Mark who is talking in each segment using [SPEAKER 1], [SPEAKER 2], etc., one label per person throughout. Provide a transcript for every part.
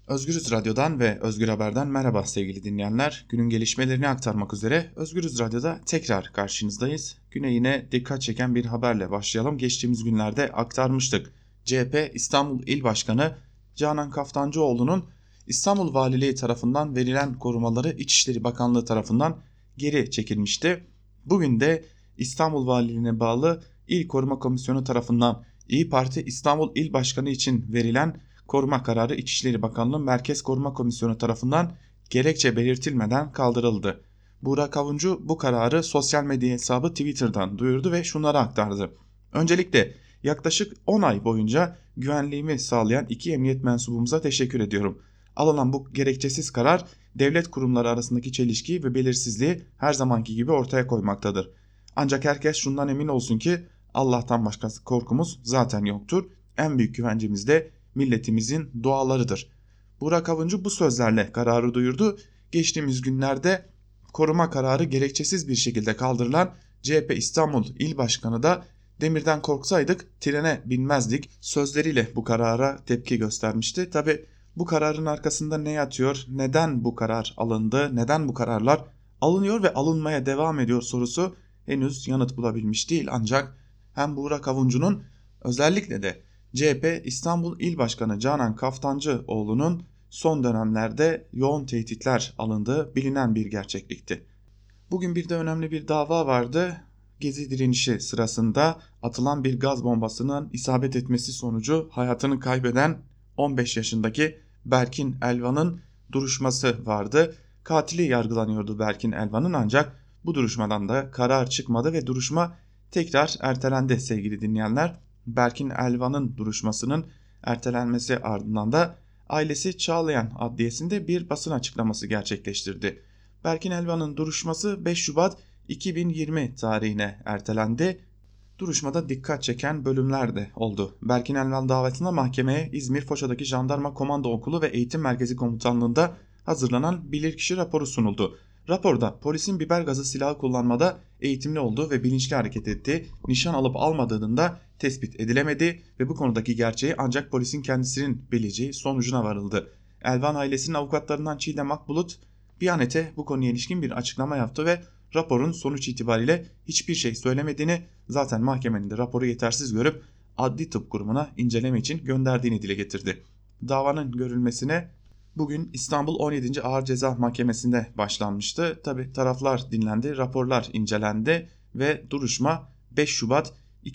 [SPEAKER 1] Özgürüz Radyo'dan ve Özgür Haber'den merhaba sevgili dinleyenler. Günün gelişmelerini aktarmak üzere Özgürüz Radyo'da tekrar karşınızdayız. Güne yine dikkat çeken bir haberle başlayalım. Geçtiğimiz günlerde aktarmıştık. CHP İstanbul İl Başkanı Canan Kaftancıoğlu'nun İstanbul Valiliği tarafından verilen korumaları İçişleri Bakanlığı tarafından geri çekilmişti. Bugün de İstanbul Valiliğine bağlı İl Koruma Komisyonu tarafından İyi Parti İstanbul İl Başkanı için verilen koruma kararı İçişleri Bakanlığı Merkez Koruma Komisyonu tarafından gerekçe belirtilmeden kaldırıldı. Burak Avuncu bu kararı sosyal medya hesabı Twitter'dan duyurdu ve şunları aktardı. Öncelikle yaklaşık 10 ay boyunca güvenliğimi sağlayan iki emniyet mensubumuza teşekkür ediyorum. Alınan bu gerekçesiz karar devlet kurumları arasındaki çelişkiyi ve belirsizliği her zamanki gibi ortaya koymaktadır. Ancak herkes şundan emin olsun ki Allah'tan başkası korkumuz zaten yoktur. En büyük güvencemiz de milletimizin dualarıdır. Burak Avuncu bu sözlerle kararı duyurdu. Geçtiğimiz günlerde koruma kararı gerekçesiz bir şekilde kaldırılan CHP İstanbul İl Başkanı da demirden korksaydık trene binmezdik sözleriyle bu karara tepki göstermişti. Tabi bu kararın arkasında ne yatıyor, neden bu karar alındı, neden bu kararlar alınıyor ve alınmaya devam ediyor sorusu henüz yanıt bulabilmiş değil. Ancak hem Burak Avuncu'nun özellikle de CHP İstanbul İl Başkanı Canan Kaftancıoğlu'nun son dönemlerde yoğun tehditler alındığı bilinen bir gerçeklikti. Bugün bir de önemli bir dava vardı. Gezi direnişi sırasında atılan bir gaz bombasının isabet etmesi sonucu hayatını kaybeden 15 yaşındaki Berkin Elvan'ın duruşması vardı. Katili yargılanıyordu Berkin Elvan'ın, ancak bu duruşmadan da karar çıkmadı ve duruşma tekrar ertelendi sevgili dinleyenler. Berkin Elvan'ın duruşmasının ertelenmesi ardından da ailesi Çağlayan Adliyesi'nde bir basın açıklaması gerçekleştirdi. Berkin Elvan'ın duruşması 5 Şubat 2020 tarihine ertelendi. Duruşmada dikkat çeken bölümler de oldu. Berkin Elvan davetinde mahkemeye İzmir Foça'daki Jandarma Komando Okulu ve Eğitim Merkezi Komutanlığı'nda hazırlanan bilirkişi raporu sunuldu. Raporda polisin biber gazı silahı kullanmada eğitimli olduğu ve bilinçli hareket ettiği, nişan alıp almadığının da tespit edilemedi ve bu konudaki gerçeği ancak polisin kendisinin bileceği sonucuna varıldı. Elvan ailesinin avukatlarından Çiğdem Akbulut Biyanet'e bu konuya ilişkin bir açıklama yaptı ve raporun sonuç itibariyle hiçbir şey söylemediğini, zaten mahkemenin de raporu yetersiz görüp Adli Tıp Kurumu'na inceleme için gönderdiğini dile getirdi. Davanın görülmesine bugün İstanbul 17. Ağır Ceza Mahkemesi'nde başlanmıştı. Tabi taraflar dinlendi, raporlar incelendi ve duruşma 5 Şubat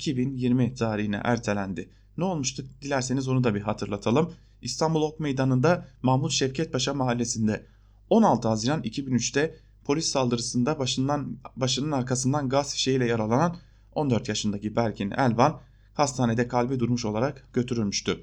[SPEAKER 1] 2020 tarihine ertelendi. Ne olmuştu dilerseniz onu da bir hatırlatalım. İstanbul Ok Meydanı'nda Mahmut Şevket Paşa mahallesinde 16 Haziran 2003'te polis saldırısında başının arkasından gaz fişeğiyle yaralanan 14 yaşındaki Berkin Elvan hastanede kalbi durmuş olarak götürülmüştü.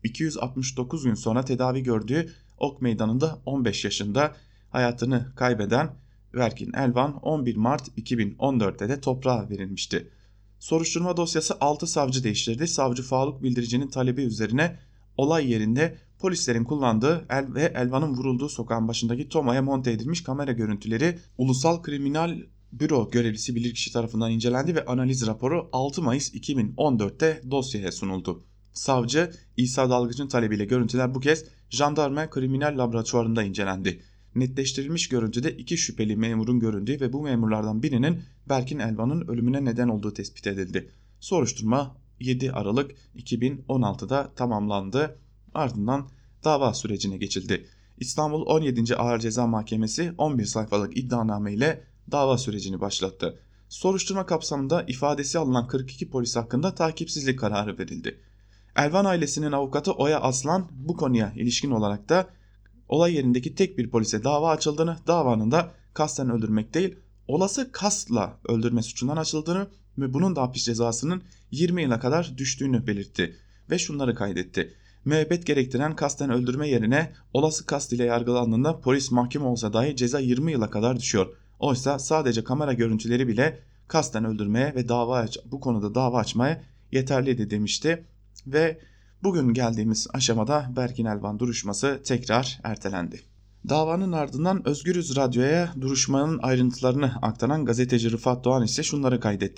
[SPEAKER 1] 269 gün sonra tedavi gördüğü Ok Meydanı'nda 15 yaşında hayatını kaybeden Berkin Elvan 11 Mart 2014'te de toprağa verilmişti. Soruşturma dosyası 6 savcı değiştirdi. Savcı Faruk Bildirici'nin talebi üzerine olay yerinde polislerin kullandığı ve Elvan'ın vurulduğu sokağın başındaki Toma'ya monte edilmiş kamera görüntüleri Ulusal Kriminal Büro görevlisi bilirkişi tarafından incelendi ve analiz raporu 6 Mayıs 2014'te dosyaya sunuldu. Savcı İsa Dalgıç'ın talebiyle görüntüler bu kez Jandarma Kriminal Laboratuvarı'nda incelendi. Netleştirilmiş görüntüde 2 şüpheli memurun göründüğü ve bu memurlardan birinin Berkin Elvan'ın ölümüne neden olduğu tespit edildi. Soruşturma 7 Aralık 2016'da tamamlandı. Ardından dava sürecine geçildi. İstanbul 17. Ağır Ceza Mahkemesi 11 sayfalık iddianame ile dava sürecini başlattı. Soruşturma kapsamında ifadesi alınan 42 polis hakkında takipsizlik kararı verildi. Elvan ailesinin avukatı Oya Aslan bu konuya ilişkin olarak da olay yerindeki tek bir polise dava açıldığını, davanın da kasten öldürmek değil olası kastla öldürme suçundan açıldığını ve bunun da hapis cezasının 20 yıla kadar düştüğünü belirtti ve şunları kaydetti. Müebbet gerektiren kasten öldürme yerine olası kast ile yargılandığında polis mahkum olsa dahi ceza 20 yıla kadar düşüyor. Oysa sadece kamera görüntüleri bile kasten öldürmeye ve bu konuda dava açmaya yeterliydi demişti ve bugün geldiğimiz aşamada Berkin Elvan duruşması tekrar ertelendi. Davanın ardından Özgürüz Radyo'ya duruşmanın ayrıntılarını aktaran gazeteci Rıfat Doğan ise şunları kaydetti.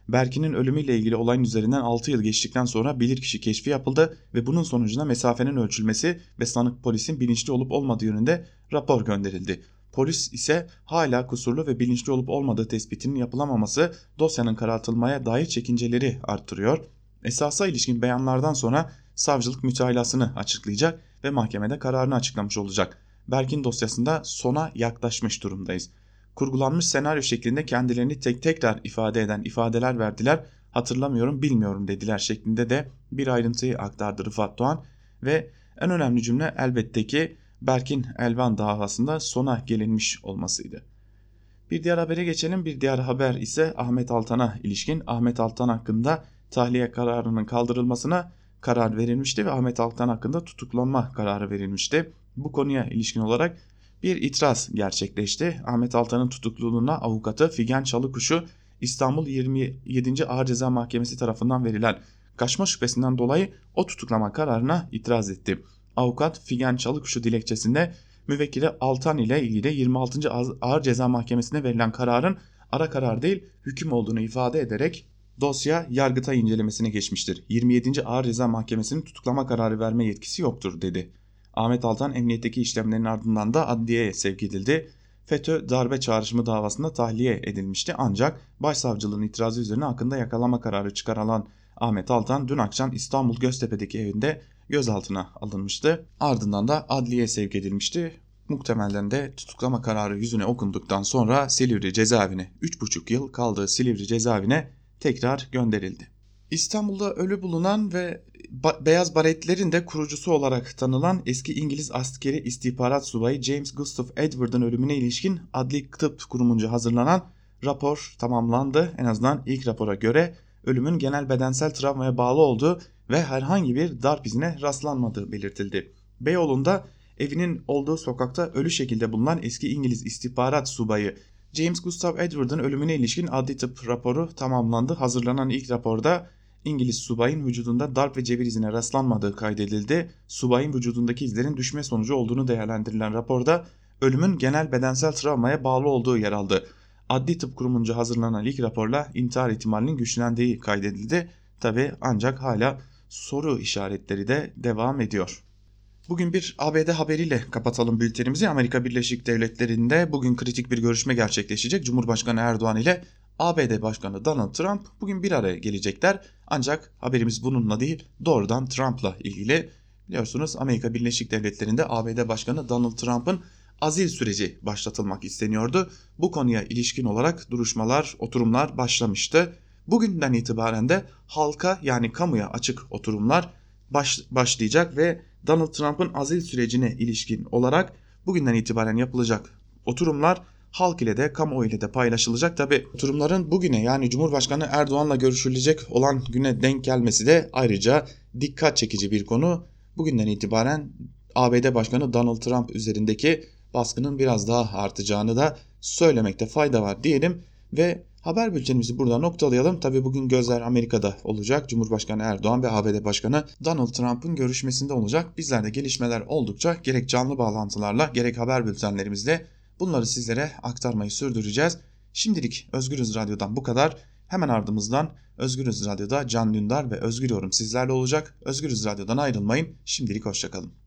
[SPEAKER 1] Berkin'in ölümüyle ilgili olayın üzerinden 6 yıl geçtikten sonra bilirkişi keşfi yapıldı ve bunun sonucunda mesafenin ölçülmesi ve sanık polisin bilinçli olup olmadığı yönünde rapor gönderildi. Polis ise hala kusurlu ve bilinçli olup olmadığı tespitinin yapılamaması dosyanın karartılmaya dair çekinceleri arttırıyor. Esasa ilişkin beyanlardan sonra savcılık mütahilasını açıklayacak ve mahkemede kararını açıklamış olacak. Berkin dosyasında sona yaklaşmış durumdayız. Kurgulanmış senaryo şeklinde kendilerini tekrar ifade eden ifadeler verdiler. Hatırlamıyorum, bilmiyorum dediler şeklinde de bir ayrıntıyı aktardı Rıfat Doğan ve en önemli cümle elbette ki Berkin Elvan davasında sona gelinmiş olmasıydı. Bir diğer habere geçelim. Bir diğer haber ise Ahmet Altan'a ilişkin. Ahmet Altan hakkında tahliye kararının kaldırılmasına karar verilmişti ve Ahmet Altan hakkında tutuklanma kararı verilmişti. Bu konuya ilişkin olarak bir itiraz gerçekleşti. Ahmet Altan'ın tutukluluğuna avukatı Figen Çalıkuşu İstanbul 27. Ağır Ceza Mahkemesi tarafından verilen kaçma şüphesinden dolayı o tutuklama kararına itiraz etti. Avukat Figen Çalıkuşu dilekçesinde müvekkili Altan ile ilgili 26. Ağır Ceza Mahkemesi'ne verilen kararın ara karar değil hüküm olduğunu ifade ederek dosya Yargıtay incelemesine geçmiştir. 27. Ağır Ceza Mahkemesi'nin tutuklama kararı verme yetkisi yoktur dedi. Ahmet Altan emniyetteki işlemlerin ardından da adliyeye sevk edildi. FETÖ darbe çağrışımı davasında tahliye edilmişti ancak başsavcılığın itirazı üzerine hakkında yakalama kararı çıkarılan Ahmet Altan dün akşam İstanbul Göztepe'deki evinde gözaltına alınmıştı. Ardından da adliyeye sevk edilmişti. Muhtemelen de tutuklama kararı yüzüne okunduktan sonra Silivri cezaevine 3,5 yıl kaldığı Silivri cezaevine tekrar gönderildi. İstanbul'da ölü bulunan ve Beyaz Baretlerin de kurucusu olarak tanılan eski İngiliz askeri istihbarat subayı James Gustav Edward'ın ölümüne ilişkin Adli Tıp Kurumunca hazırlanan rapor tamamlandı. En azından ilk rapora göre ölümün genel bedensel travmaya bağlı olduğu ve herhangi bir darp izine rastlanmadığı belirtildi. Beyoğlu'nda evinin olduğu sokakta ölü şekilde bulunan eski İngiliz istihbarat subayı James Gustav Edward'ın ölümüne ilişkin adli tıp raporu tamamlandı. Hazırlanan ilk raporda İngiliz subayın vücudunda darp ve cebir izine rastlanmadığı kaydedildi. Subayın vücudundaki izlerin düşme sonucu olduğunu değerlendirilen raporda ölümün genel bedensel travmaya bağlı olduğu yer aldı. Adli Tıp Kurumunca hazırlanan ilk raporla intihar ihtimalinin güçlendiği kaydedildi. Tabi ancak hala soru işaretleri de devam ediyor. Bugün bir ABD haberiyle kapatalım bültenimizi. Amerika Birleşik Devletleri'nde bugün kritik bir görüşme gerçekleşecek. Cumhurbaşkanı Erdoğan ile ABD Başkanı Donald Trump bugün bir araya gelecekler. Ancak haberimiz bununla değil, doğrudan Trump'la ilgili. Biliyorsunuz Amerika Birleşik Devletleri'nde ABD Başkanı Donald Trump'ın azil süreci başlatılmak isteniyordu. Bu konuya ilişkin olarak duruşmalar, oturumlar başlamıştı. Bugünden itibaren de halka yani kamuya açık oturumlar başlayacak ve Donald Trump'ın azil sürecine ilişkin olarak bugünden itibaren yapılacak oturumlar halk ile de kamuoyu ile de paylaşılacak. Tabi oturumların bugüne yani Cumhurbaşkanı Erdoğan'la görüşülecek olan güne denk gelmesi de ayrıca dikkat çekici bir konu. Bugünden itibaren ABD Başkanı Donald Trump üzerindeki baskının biraz daha artacağını da söylemekte fayda var diyelim ve haber bültenimizi burada noktalayalım. Tabii bugün gözler Amerika'da olacak. Cumhurbaşkanı Erdoğan ve ABD Başkanı Donald Trump'ın görüşmesinde olacak. Bizler de gelişmeler oldukça gerek canlı bağlantılarla gerek haber bültenlerimizle bunları sizlere aktarmayı sürdüreceğiz. Şimdilik Özgürüz Radyo'dan bu kadar. Hemen ardımızdan Özgürüz Radyo'da Can Dündar ve Özgür Yorum sizlerle olacak. Özgürüz Radyo'dan ayrılmayın. Şimdilik hoşçakalın.